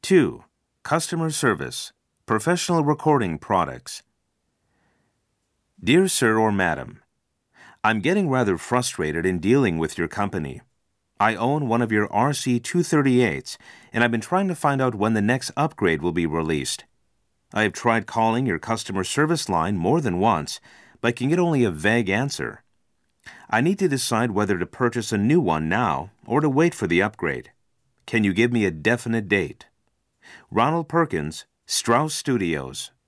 2. Customer service, professional recording products. Dear Sir or Madam, I'm getting rather frustrated in dealing with your company. I own one of your RC-238s, and I've been trying to find out when the next upgrade will be released. I have tried calling your customer service line more than once, but can get only a vague answer. I need to decide whether to purchase a new one now or to wait for the upgrade. Can you give me a definite date? Ronald Perkins, Strauss Studios.